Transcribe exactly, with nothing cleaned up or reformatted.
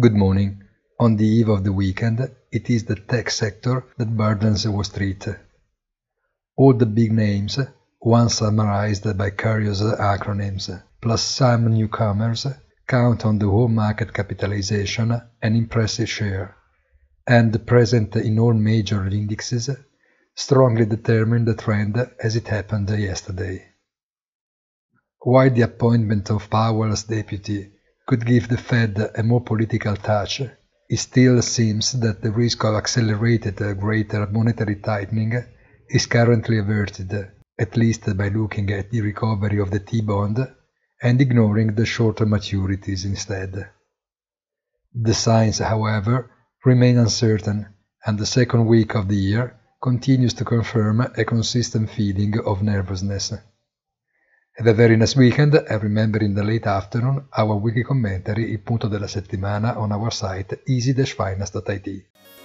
Good morning. On the eve of the weekend, it is the tech sector that burdens Wall Street. All the big names, once summarized by curious acronyms, plus some newcomers, count on the whole market capitalization an impressive share, and present in all major indexes, strongly determine the trend as it happened yesterday. While the appointment of Powell's deputy could give the Fed a more political touch, it still seems that the risk of accelerated greater monetary tightening is currently averted, at least by looking at the recovery of the T-bond and ignoring the shorter maturities instead. The signs, however, remain uncertain, and the second week of the year continues to confirm a consistent feeling of nervousness. Have a very nice weekend, and remember in the late afternoon our weekly commentary, il punto della settimana, on our site easy dash finance dot it.